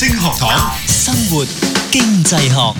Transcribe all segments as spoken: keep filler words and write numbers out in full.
星學堂，生活經濟學。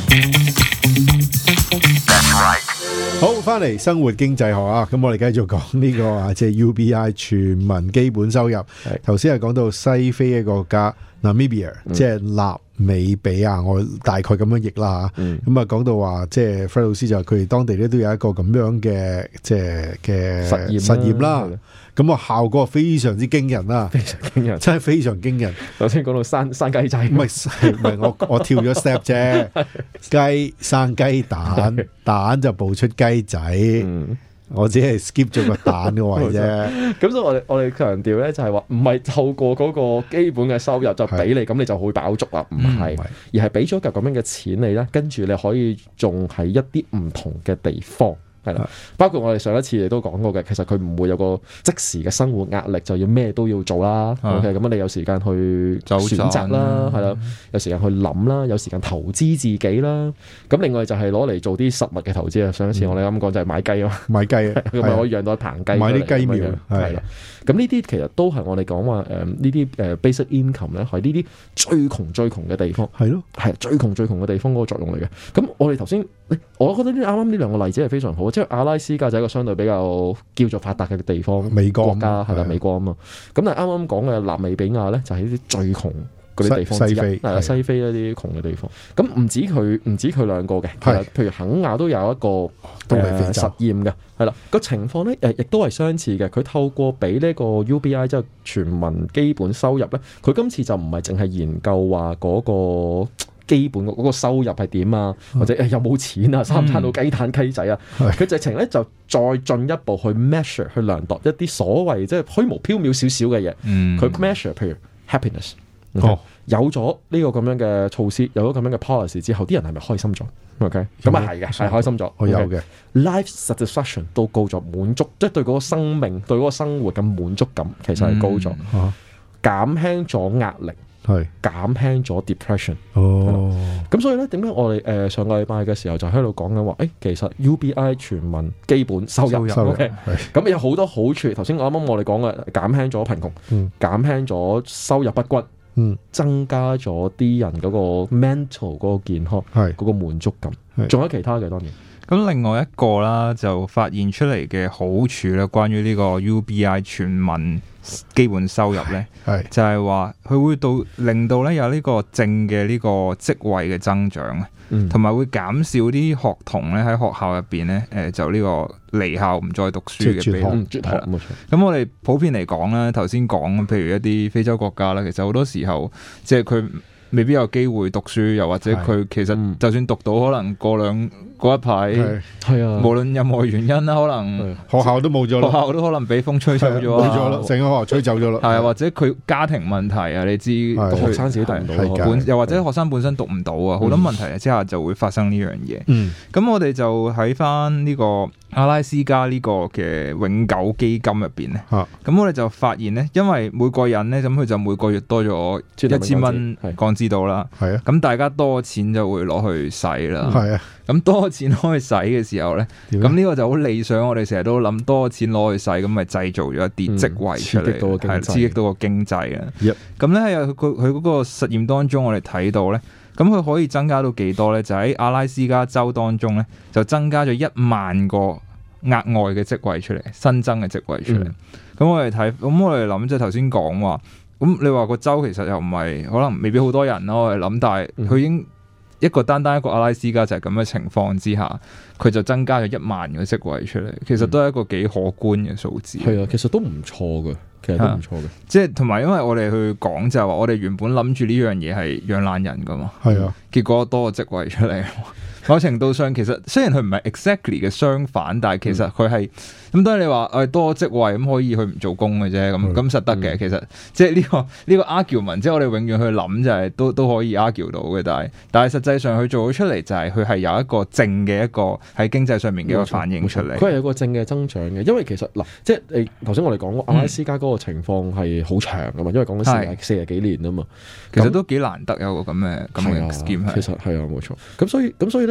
好，翻嚟生活經濟學啊！咁我哋繼續講呢個啊，即係 U B I 全民基本收入。頭先係講到西非嘅國家 Namibia，即係納美比亞，我大概咁樣譯啦吓。咁啊，講到話，即係 Fred 老師就話佢哋當地咧都有一個咁樣嘅即係嘅實驗實驗啦。咁啊，效果非常之驚人啦，非常驚人，真係非常驚人。 頭先講到生生雞仔， 唔係唔係，我我跳咗 step 啫。雞生雞蛋，蛋就哺出雞仔。嗯、我只係 skip 咗個蛋嘅位啫。 咁所以我哋我哋強調咧，就係話唔係透過嗰個基本嘅收入就俾你，咁你就會飽足啦。唔係，嗯、而係俾咗嚿咁樣嘅錢你咧，跟住你可以種喺一啲唔同嘅地方。係啦，包括我哋上一次亦都講過嘅，其實佢唔會有個即時嘅生活壓力，就要咩都要做啦。OK，咁你有時間去選擇啦，係啦，有時間去諗啦，有時間投資自己啦。咁另外就係攞嚟做啲實物嘅投資啊。上一次我哋啱講就係買雞啊， 買雞啊， 咁咪可以養到一棚雞， 買啲雞苗係啦。 咁呢啲其實都係我哋講話誒呢啲誒 basic income 咧，係呢啲最窮最窮嘅地方，係咯，係最窮最窮嘅地方嗰個作用嚟嘅。咁我哋頭先，我覺得呢啱啱呢兩個例子係非常好。即係阿拉斯加就係一個相對比較叫做發達嘅地方，美國國家係啦，美國啊嘛。咁但係啱啱講嘅納美比亞咧，就係呢啲最窮嗰啲地方之一，係啦，西非一啲窮嘅地方。咁唔止佢，唔止佢兩個嘅，其實譬如肯亞都有一個都係非實驗嘅，係啦，個情況咧誒，亦都係相似嘅。佢透過俾呢個 U B I 即係全民基本收入咧，佢今次就唔係淨係研究話嗰個基本嗰個收入係點啊，或者有冇錢啊，三餐到雞蛋雞仔啊，佢、嗯、直情咧就再進一步去 measure 去量度一啲所謂即係虛無縹緲少少嘅嘢，佢、嗯、measure 譬如 happiness，、okay? 哦、有咗呢個咁樣嘅措施，有咗咁樣嘅 policy 之後，啲人係咪開心咗 ？OK， 咁啊係嘅，係開心咗，我有嘅 life satisfaction 都高咗，滿足即係、就是、對嗰個生命對嗰個生活嘅滿足感其實係高咗，減輕咗壓力。係減輕咗 depression 哦，咁所以咧點解我哋誒、呃、上個禮拜嘅時候就喺度講緊話，誒其實 U B I 全民基本收入 ，OK， 咁有好多好處。頭先我啱啱我哋講嘅減輕咗貧窮，嗯、減輕咗收入不均，嗯、增加咗啲人嗰個 mental 嗰個健康，係嗰個滿足感，仲有其他嘅當然。 咁另外一個啦，就發現出嚟嘅好處咧，關於呢個 U B I 全民基本收入咧，係就係話佢會到令到咧有呢個正嘅呢個職位嘅增長啊，同埋、嗯、會減少啲學童咧喺學校入邊咧，誒就呢個離校唔再讀書嘅比率。咁、嗯、我哋普遍嚟講咧，頭先講譬如一啲非洲國家啦，其實好多時候即係佢未必有機會讀書，又或者佢其實就算讀到，可能過兩嗰一排係啊，無論任何原因啦，可能學校都冇咗，學校都可能俾風吹走咗， 冇咗啦，成個學校吹走咗啦。 係啊，或者佢家庭問題啊，你知學生自己讀唔到， 本又或者學生本身讀唔到啊，好多問題之下就會發生呢樣嘢。咁我哋就喺翻呢個阿拉斯加呢個嘅永久基金入邊咧，咁我哋就發現咧，因為每個人咧，咁佢就每個月多咗一千蚊港紙到啦，係啊，咁大家多錢就會攞去使啦，係啊，咁多錢攞去使嘅時候咧，咁呢個就好理想。我哋成日都諗多錢攞去使，咁咪製造咗一啲職位出嚟，係刺激到個經濟啊。咁咧喺佢佢嗰個實驗當中，我哋睇到咧，咁佢可以增加到幾多咧？就喺阿拉斯加州當中咧，就增加咗一萬個額外嘅職位出嚟，新增嘅職位出嚟。咁、嗯、我哋睇，咁我哋諗即係頭先講話，咁你話個州其實又唔係可能未必好多人咯。我哋諗，但係佢已經一個單單一個阿拉斯加就係咁嘅情況之下，佢就增加咗一萬個職位出嚟，其實都係一個幾可觀嘅數字。係、嗯、啊，其實都唔錯嘅，其實都唔錯嘅。即係同埋，因為我哋去講就係話，我哋原本諗住呢樣嘢係養懶人噶嘛，係啊，結果多個職位出嚟。某程度上，其實雖然佢唔係 exactly 嘅相反，但係其實佢係咁。當然你話誒多職位咁可以去唔做工嘅啫，咁咁實得嘅。其實即係呢個呢個 argument，即係我哋永遠去諗就係都都可以 argue 到嘅。但係但係實際上佢做咗出嚟就係佢係有一個正嘅一個喺經濟上面嘅一個反應出嚟。佢係有個正嘅增長嘅，因為其實嗱，即係你頭先我哋講過阿拉斯加嗰個情況係好長噶嘛，因為講緊四十四十幾年啊嘛，其實都幾難得有個咁嘅咁嘅 scheme。其實係啊，冇錯。咁所以咁所以咧。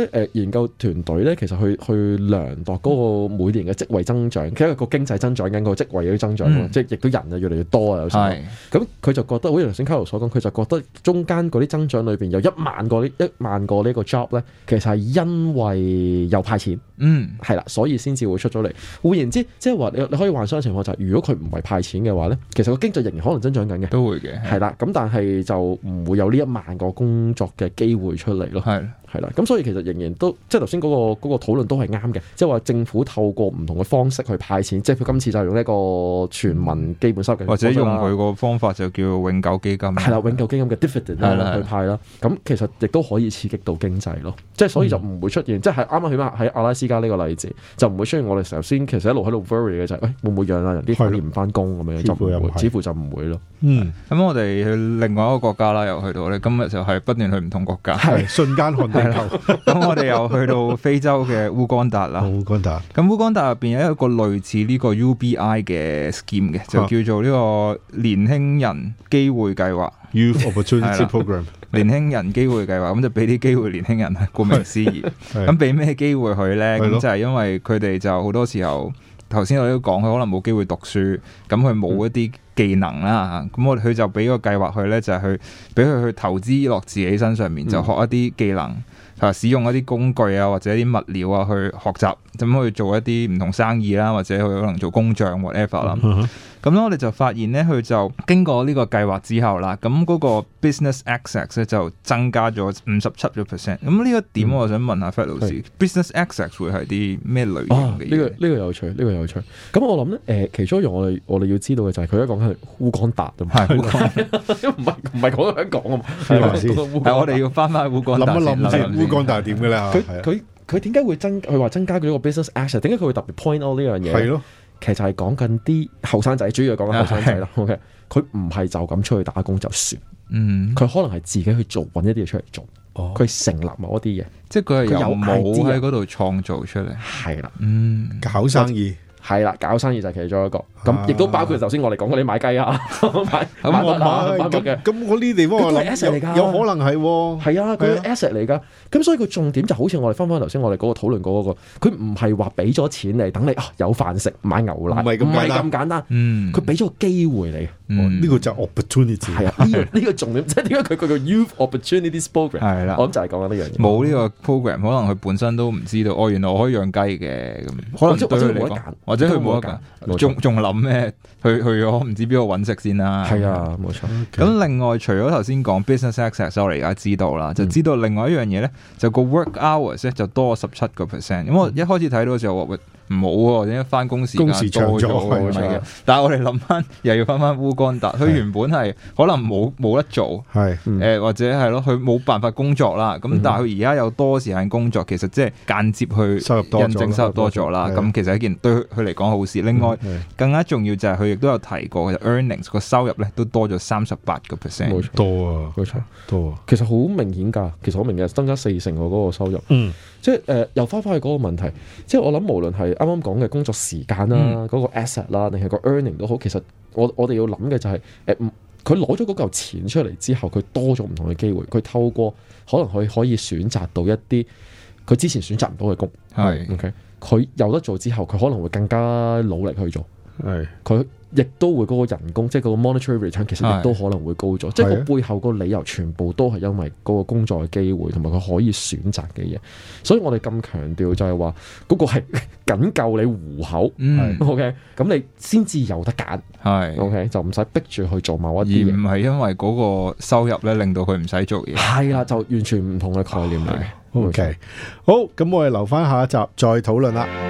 咧，誒、呃、研究團隊咧，其實去去量度嗰個每年嘅職位增長，其實個經濟增長緊，個職位嘅增長，嗯、即係亦都人啊越嚟越多啊，有時候。咁佢就覺得，好似頭先卡羅所講，佢就覺得中間嗰啲增長裏邊有一萬個呢一萬個呢個 job 咧，其實係因為有派錢，嗯，係啦，所以先至會出咗嚟。換言之，即係話你你可以幻想嘅情況就係、是，如果佢唔係派錢嘅話咧，其實個經濟仍然可能增長緊嘅， 都會嘅， 係啦。咁但係就唔會有呢一萬個工作嘅機會出嚟咯，係係啦。咁所以其實仍然都即係頭先嗰個嗰、嗰個討論都係啱嘅，即係話政府透過唔同嘅方式去派錢，即係佢今次就用呢個全民基本收入， 或者用佢個方法就叫永久基金，係啦， 永久基金嘅 dividend 去派啦。咁其實亦都可以刺激到經濟咯，即係所以就唔會出現，嗯、即係啱啱起碼喺阿拉斯加呢個例子，就唔會出現我哋頭先其實一路喺度 worry 嘅就係、是，誒、哎、會唔會讓啊人啲反而唔翻工咁樣，就唔會，似乎就唔會咯。嗯， 咁我哋去另外一個國家啦，又去到咧，今日就係不斷去唔同國家， 係瞬間看地球。 咁我哋又去到非洲嘅烏干達啦。 烏干達， 咁烏干達入邊有一個類似呢個 U B I 嘅 scheme 嘅，就叫做呢個年輕人機會計劃 （Youth Opportunity Program）。 年輕人機會計劃，咁就俾啲機會年輕人，顧名思義。咁俾咩機會佢咧？咁就係因為佢哋就好多時候，頭先我都講，佢可能冇機會讀書，咁佢冇一啲技能啦。咁我佢就俾個計劃佢咧，就係去俾佢去投資落自己身上面，就學一啲技能。啊！使用一啲工具啊，或者一啲物料啊，去學習咁去做一啲唔同生意啦，或者佢可能做工匠 whatever 啦。咁咧，我哋就發現咧，佢就經過呢個計劃之後啦，咁嗰個 business access 咧就增加咗五十七個 percent。咁呢個點，我想問下 Fred 老師，business access 會係啲咩類型嘅嘢？呢個呢個有趣，呢個有趣。咁我諗咧，誒，其中一樣我哋我哋要知道嘅就係佢而家講緊烏干達啊嘛，係烏干達，唔係唔係講香港啊嘛， 係我哋要翻翻烏干達先。 諗一諗先，烏干達係點嘅咧？ 佢佢佢點解會增？佢話增加咗個 business access，點解佢會特別 point out 呢樣嘢？係咯。其實係講緊啲後生仔，主要係講緊後生仔啦。OK，佢唔係就咁出去打工就算，嗯，佢可能係自己去做，揾一啲嘢出嚟做。哦，佢成立某一啲嘢， 即係佢係由冇喺嗰度創造出嚟。係啦，嗯， 搞生意。 係啦，搞生意就係其中一個，咁亦都包括頭先我哋講嗰啲買雞啊，買買物啊，咁咁我呢啲地方我諗有有可能係， 係啊，佢係 asset 嚟噶，咁所以佢重點就好似我哋翻翻頭先我哋嗰個討論過嗰個，佢唔係話俾咗錢嚟等你啊有飯食買牛奶，唔係咁簡單，嗯，佢俾咗個機會你， 呢個就 opportunity， 係啊，呢個呢個重點，即係點解佢佢個 youth opportunities program 係啦，我諗就係講緊呢樣嘢， 冇呢個 program 可能佢本身都唔知道，哦，原來我可以養雞嘅，咁可能對佢嚟講。或者佢冇得揀，仲仲諗咩？去去咗唔知邊度揾食先啦。 係啊，冇錯。 咁 Okay. 另外除咗頭先講 business access，我哋而家知道啦，嗯、就知道另外一樣嘢咧，就個 work hours 咧就多十七個 percent。咁我一開始睇到嘅時候話，唔好喎，點解翻工時間多咗？但係我哋諗翻，又要翻翻烏干達，佢原本係可能冇冇得做，係誒、嗯呃、或者係咯，佢冇辦法工作啦。咁、嗯、但係佢而家有多時間工作，其實即係間接去收入多咗， 印證收入多咗啦。咁其實係一件對佢嚟講好事。另外、嗯、更加重要就係佢亦都有提過，其實 earnings 個收入咧都多咗三十八個 percent， 冇錯， 多啊， 冇錯， 多啊。 其實好明顯㗎，其實好明顯增加四成喎嗰個收入。嗯，即係誒、呃、又翻返去嗰個問題，即係我諗無論係啱啱講嘅工作時間啦，嗰、嗯、個 asset 啦，定係個 earning 都好，其實我我哋要諗嘅就係、是、誒，佢攞咗嗰嚿錢出嚟之後，佢多咗唔同嘅機會，佢透過可能佢可以選擇到一啲佢之前選擇唔到嘅工，係是 OK，佢有得做之後，佢可能會更加努力去做，係佢。亦都會嗰個人工，即係嗰個 monetary return，其實亦都可能會高咗。是即係個背後個理由，全部都係因為嗰個工作嘅機會，同埋佢可以選擇嘅嘢。所以我哋咁強調就係話，嗰、嗰個係僅夠你糊口。嗯、OK，咁你先至有得揀。係是 OK，就唔使逼住去做某一啲嘢， 而唔係因為嗰個收入咧令到佢唔使做嘢。係啦，就完全唔同嘅概念嚟。 OK，好，咁我哋留翻下一集再討論啦。